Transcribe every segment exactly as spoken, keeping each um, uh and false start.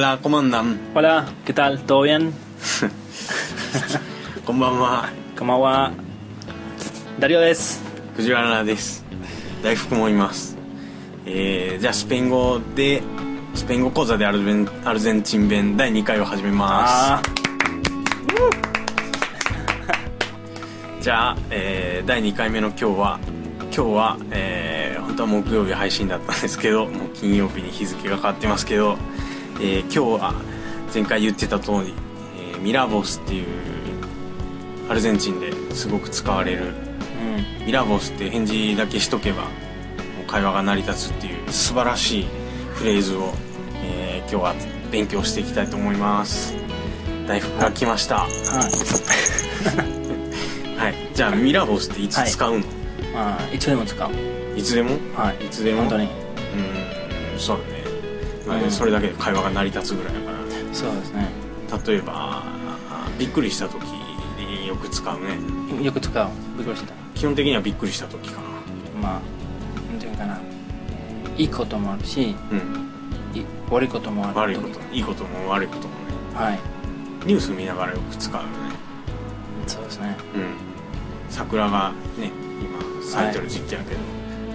Hola, ¿cómo andan? Hola, ¿qué tal? ¿Todo bien? こんばんは。 こんばんは。ダリオです。 藤原です。大福もいます。えー、じゃあスペイン語でスペイン語講座でアルゼン、アルゼンチン弁だいにかいを始めます。じゃあ、えー、だいにかいめの今日は今日は、えー、本当は木曜日配信だったんですけど、もう金曜日に日付が変わってますけど、えー、今日は前回言ってた通り、えー、ミラボスっていうアルゼンチンですごく使われる、うん、ミラボスって返事だけしとけばもう会話が成り立つっていう素晴らしいフレーズを、えー、今日は勉強していきたいと思います。大福が来ました。はい、はい、じゃあミラボスっていつ使うの？はい、 あ、いつでも使う。 いつでも？はい、いつでも。 本当に。 うん、そうだね。まあ、それだけで会話が成り立つぐらいだから。 そうですね。 例えばびっくりした時によく使うね。 よく使う。びっくりした。 基本的にはびっくりした時かな。 まあなんていうかな、いいこともあるし、うん、い悪いこともある。 悪いこと、いいことも悪いこともね。はい。ニュース見ながらよく使うよね。 そうですね。 うん。桜がね今咲いてる時期やけど、はい、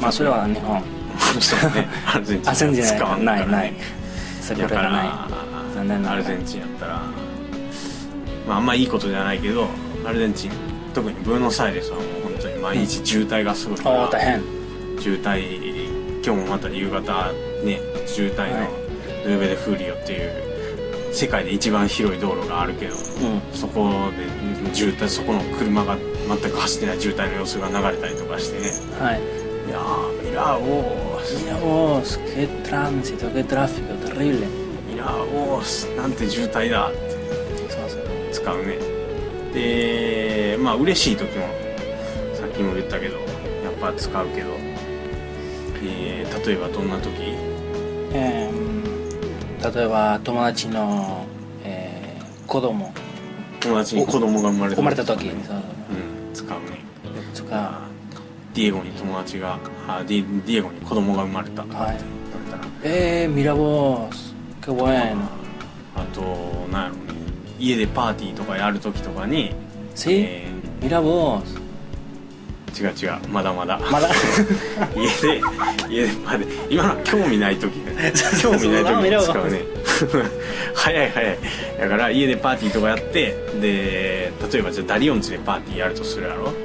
まあそれは日本。 そうね。アルゼンチンは使わんからね。ないない。 桜がない。残念なアルゼンチンやったら、まああんまいいことじゃないけど、アルゼンチン特にブエノスアイレスはもう本当に毎日渋滞がすごいから、 うん、大変。 渋滞、今日もまた夕方ね渋滞のヌーベ・デ・フーリオっていう世界で一番広い道路があるけど、うん、そこで渋滞、そこの車が全く走ってない渋滞の様子が流れたりとかしてね。はい。いやー、ミラーボース。 ミラーボース、qué tránsito, qué tráfico, terrible。 ミラーボース、なんて渋滞だってそうそう使うね。で、まあ嬉しい時もさっきも言ったけどやっぱ使うけど、えー、例えばどんな時？ えー、例えば友達の、えー、子供友達に子供が生まれた時、 生まれた時に、うん、 使うね。 使う。 ディエゴに友達があディ、ディエゴに子供が生まれたって言われたら、はい、 えー、ミラボス、qué bueno。 あとなんやろね、家でパーティーとかやる時とかに、 sí、えー、ミラボス。 違う違う、まだまだまだ家で家でまで今のは興味ない時興味ない時に使うね早い早い。だから家でパーティーとかやって、で例えばじゃあダリオンチでパーティーやるとするやろ。はい。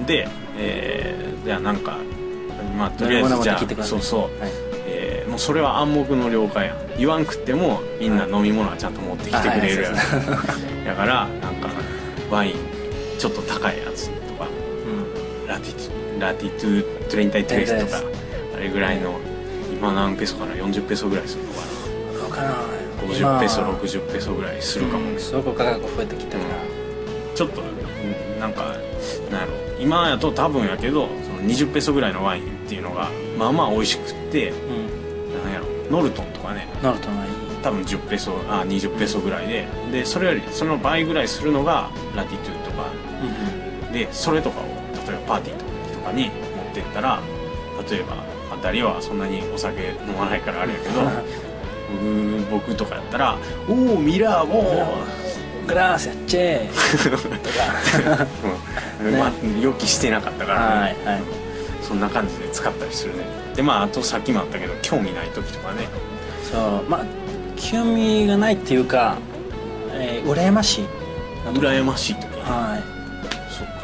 で、えー、じゃあなんかまあとりあえずじゃあそうそう、はい、えー、もうそれは暗黙の了解やん。言わんくってもみんな飲み物はちゃんと持ってきてくれるやろ。だからなんかワインちょっと高いやつとか、ラティトラティトゥトレインタイトレスとかあれぐらいの、今何ペソかな、よんじゅうペソぐらいするのかな。 分からない。 ごじゅうペソろくじゅうペソぐらいするかもね。 すごく価格増えてきたから、うん、 ちょっとなんかなんやろ、今やと多分やけどそのにじゅうペソぐらいのワインっていうのがまあまあ美味しくって、うん、なんやろ、ノルトンとかね、 ノルトンはいい、 多分じゅうペソ、あにじゅうペソぐらいで、でそれよりその倍ぐらいするのがラティトゥとか、うん、でそれとかを例えばパーティーとかに持ってったら、例えば、まあ、ダリオはそんなにお酒飲まないからあれやけど僕, 僕とかやったら「おーミラーボーグラーセッチェー」とかまあ予期してなかったからね、 はいはい、 そんな感じで使ったりするね。でまああとさっきもあったけど興味ない時とかね。 そうまあ興味がないっていうか、えー、羨ましい羨ましい時、 はい、 そっか、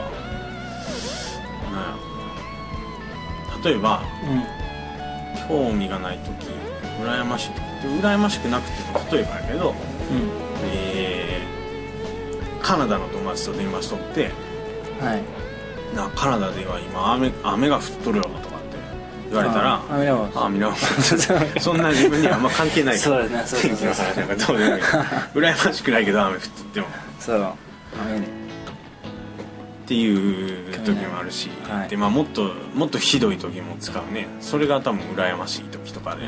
例えば、うん、興味がない時、羨ましい時って羨ましくなくても例えばやけど、うん、えー、カナダの友達と電話しとって、はい、なカナダでは今 雨, 雨が降っとるよとかって言われたら、 あ見れます、 あ見れますそんな自分にはあんま関係ないからそうですね、 天気の話なんかどうでもいい羨ましくないけど雨降っとってもそう雨ねっていう時もあるし、はい、でまあもっともっとひどい時も使うね。それが多分羨ましい時とかで、うん、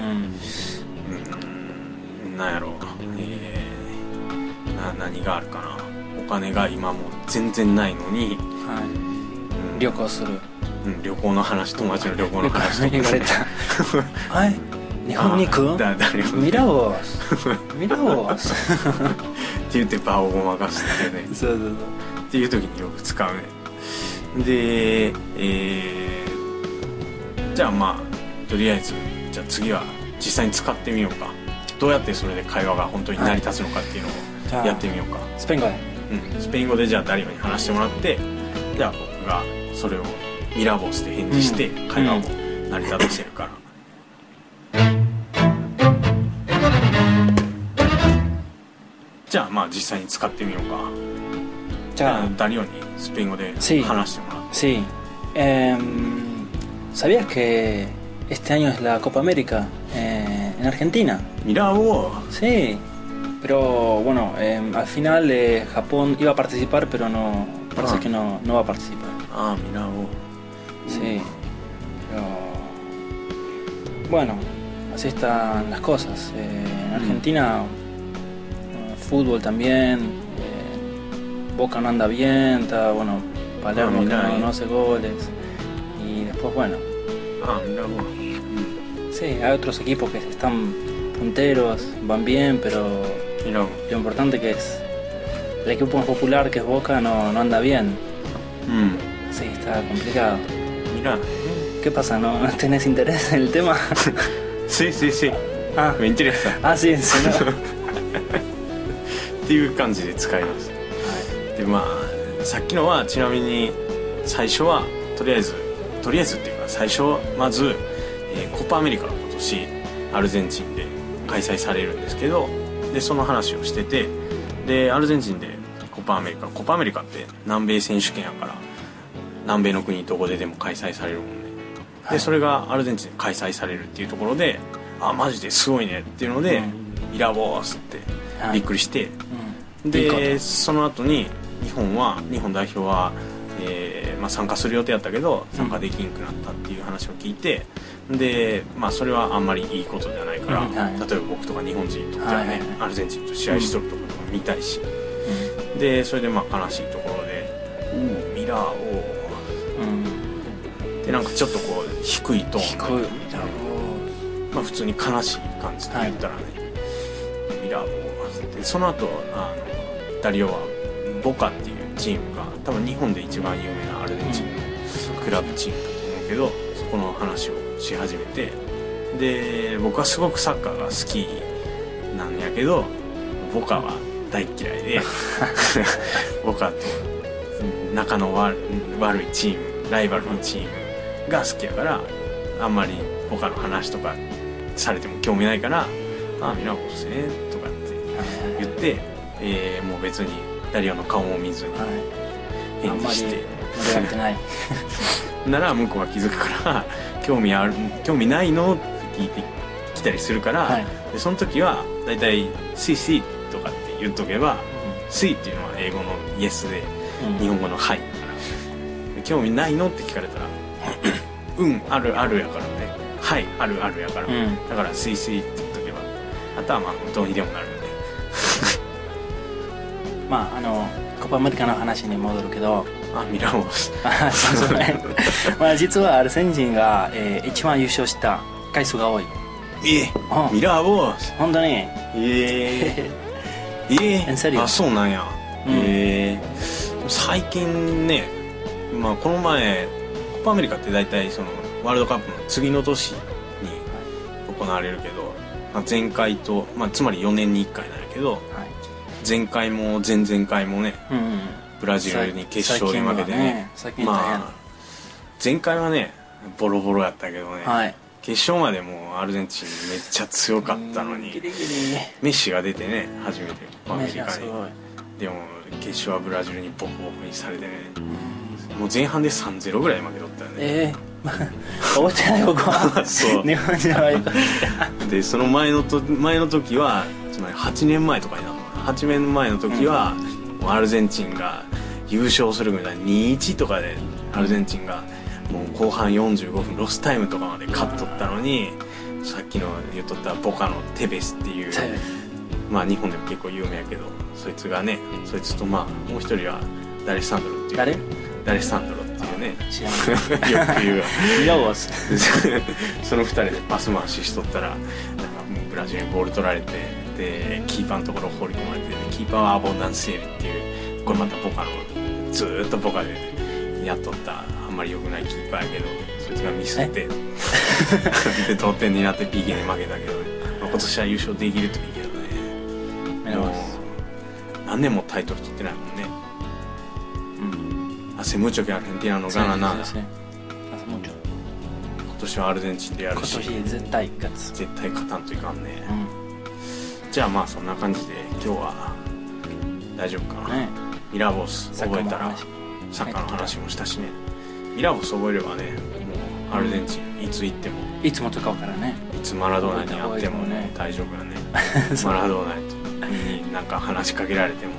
うん、なんやろう、えー、な何があるかな。お金が今も全然ないのに、 はい、うん、旅行する、 うん、旅行の話、友達の旅行の話とか言われたはい日本に行く？ だダリオンミラボスミラボスって言って場をごまかすってねそうそうそうっていう時によく使うね。で、えー、じゃあまあとりあえずじゃあ次は実際に使ってみようか。どうやってそれで会話が本当に成り立つのかっていうのをやってみようか。 スペイン語で、 うん、スペイン語でじゃあダリオに話してもらって、じゃあ僕がそれをミラボスで返事して会話を成り立たせるから、うん、じゃあまあ実際に使ってみようか。じゃあダリオにスペイン語で話してもらって。 Sí. Eh, ¿Sabías que este año es la Copa América eh, en Argentina? Mirá vos. Sí, pero bueno, eh, al final eh, Japón iba a participar, pero no parece ah. que no, no va a participar. Ah, mirá vos. Sí, pero bueno, así están las cosas. Eh, en Argentina, mm. fútbol también, eh, Boca no anda bien, está bueno, Palermo ah, mirá, que no, no hace goles y después bueno. Ah, mirá vos. Sí, hay otros equipos que están punteros, van bien, pero mirá. Lo importante que es el equipo más popular, que es Boca, no, no anda bien. Mm. Sí, está complicado. Mirá. ¿Qué pasa? ¿No tenés interés en el tema? Sí, sí, sí. Ah. Me interesa. Ah, sí, sí, no. っていう感じで使います。はい、でまあさっきのはちなみに最初はとりあえずとりあえずっていうか最初はまず、えー、コパアメリカが今年アルゼンチンで開催されるんですけど、でその話をしてて、でアルゼンチンでコパアメリカコパアメリカって南米選手権やから南米の国どこででも開催されるもんね。でそれがアルゼンチンで開催されるっていうところで、あマジですごいねっていうので、うん、ミラボースってびっくりして、うん、でその後に日本は日本代表は、えーまあ、参加する予定やったけど参加できんくなったっていう話を聞いて、で、まあ、それはあんまりいいことではないから、うんはい、例えば僕とか日本人にとってはね、はいはい、アルゼンチンと試合しとるところとか見たいし、うん、でそれでまあ悲しいところで、うん、ミラーを、うん、でなんかちょっとこう低いトーン低いミラーを、 まあ、普通に悲しい感じで言ったらね、はい、ミラーをでその後あのダリオはボカっていうチームが多分日本で一番有名なアルゼンチンのクラブチームだと思うけど、そこの話をし始めて、で僕はすごくサッカーが好きなんやけどボカは大嫌いでボカと仲の悪いチームライバルのチームが好きやからあんまりボカの話とかされても興味ないから「ああミラコスね」とかって言って、えー、もう別にダリオの顔も見ずに返事して、 盛り上がってないなら向こうは気づくから興味ある興味ないのって聞いてきたりするから、はい、でその時はだいたい「シーシー」とかって言っとけば「シー」っていうのは英語のイエスで、うん、日本語の「はい」だから興味ないのって聞かれたら「うんあるある」やからね「はいあるある」やから、うん、だから「シーシー」って言っとけばあとはまあどうにでもなるんでまああのコパアメリカの話に戻るけど、 あミラモスそうそうねまあ実はアルゼンチンが、えー、一番優勝した回数が多い。 ええー、ミラボス本当にええー、ええー、あそうなんや、うん、ええー、最近ね、まあこの前コパアメリカって大体そのワールドカップの次の年に行われるけど、まあ、前回と、まあ、つまりよねんにいっかいなんやけど、はい、前回も前々回もね、うんうん、ブラジルに決勝に負けてね、まあ前回はねボロボロやったけどね、はい、決勝までもうアルゼンチンめっちゃ強かったのにギリギリメッシが出てね初めてアメリカにでも決勝はブラジルにボコボコにされてね、もう前半で さんたいゼロ ぐらい負けとったよね。ええー、覚えてない僕はそう日本人はでその前のと前の時はつまりはちねんまえとかになるのはちねんまえの時は、うん、もうアルゼンチンが優勝するみたいな にたいいち とかでアルゼンチンがもう後半よんじゅうごふんロスタイムとかまで勝っとったのに、さっきの言っとったボカのテベスっていうまあ日本でも結構有名やけどそいつがねそいつとまあもう一人はダレッサンドロっていう誰ダレッサンドロっていうね知らないよく言うわミラボスそのふたりでパス回ししとったらなんかもうブラジルにボール取られてでキーパーのところ放り込まれてキーパーはアボンダンスエリっていうこれまたボカのずーっとボカでやっとったあんまり良くないキーパーやけどそいつがミスってで同点になって ピーケー に負けたけどね、まあ、今年は優勝できるといいけどねミラボス何年もタイトル取ってないもんね。うん。Hace mucho que Argentina no gana nada. Sí, sí, sí. Hace mucho. 今年はアルゼンチンでやるし。 今年絶対勝つ。 絶対勝たんといかんね。 うん、 じゃあまあそんな感じで今日は大丈夫かな。ね、ミラボス覚えたらサッカーの話もしたしね。ミラボス覚えればね、もうアルゼンチンいつ行っても。 いつも使うからね。 いつマラドーナに会ってもね大丈夫よね。マラドーナになんか話しかけられても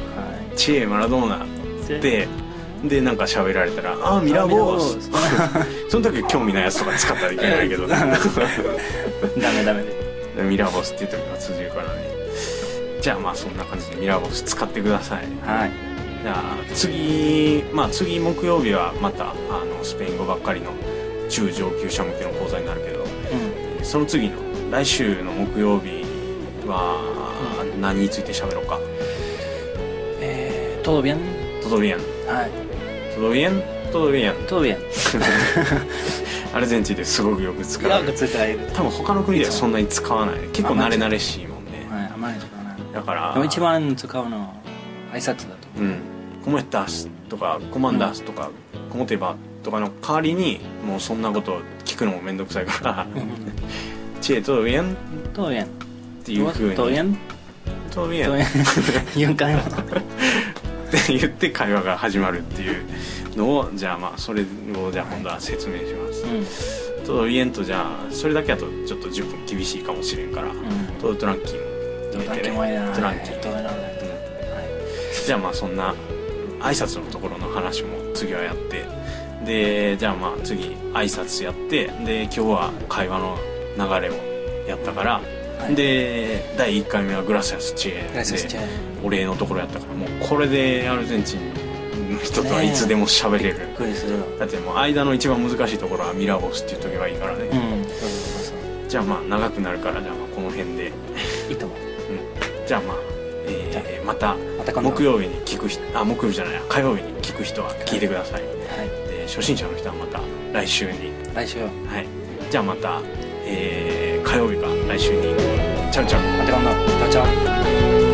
「チエマラドーナ」ってでなんか喋られたら「ああミラボース」その時興味ないやつとか使ったらいけないけどダメダメでミラボスっていう時は通じるからね。じゃあまあそんな感じでミラボス使ってください。 はい。 じゃあ次まあ次木曜日はまたあのスペイン語ばっかりの中上級者向けの講座になるけど、うん、その次の来週の木曜日は何について喋ろうか。 えー、todo bien? todo bien. はい。 todo bien? todo bien. todo bien. アルゼンチンですごくよく使う。 よく使える。 多分他の国ではそんなに使わない。結構慣れ慣れしいもんね。 はい、あまり使わない。 だから。 でも一番使うのは挨拶だと。 うん。コモエタスとかコマンダースとか、うん、コモテバとかの代わりにもうそんなことを聞くのもめんどくさいから。チエ todo bien? todo bien. っていう風に todo bien? todo bien よんかいもって言って会話が始まるっていうのをじゃあまあそれをじゃあ今度は説明します、うん、todo bien とじゃあそれだけだとちょっとじゅっぷん厳しいかもしれんから、うん、todo tranquilo 入れてねトランキー、うんはい、じゃあまあそんな挨拶のところの話も次はやってでじゃあまあ次挨拶やってで今日は会話の流れをやったからはい、でだいいっかいめはグラシアスチエでお礼のところやったからもうこれでアルゼンチンの人とはいつでも喋れる、ね、だってもう間の一番難しいところはミラボスって言っとけばいいからね、うん、そうそうそうじゃあまあ長くなるからじゃあまあこの辺でいいと思う、 うん、じゃあまあ、えー、また木曜日に聞く人あ木曜日じゃない火曜日に聞く人は聞いてください、はい、で初心者の人はまた来週に来週はいじゃあまたえー、火曜日か来週にチャウチャウまた今度チャウチャウ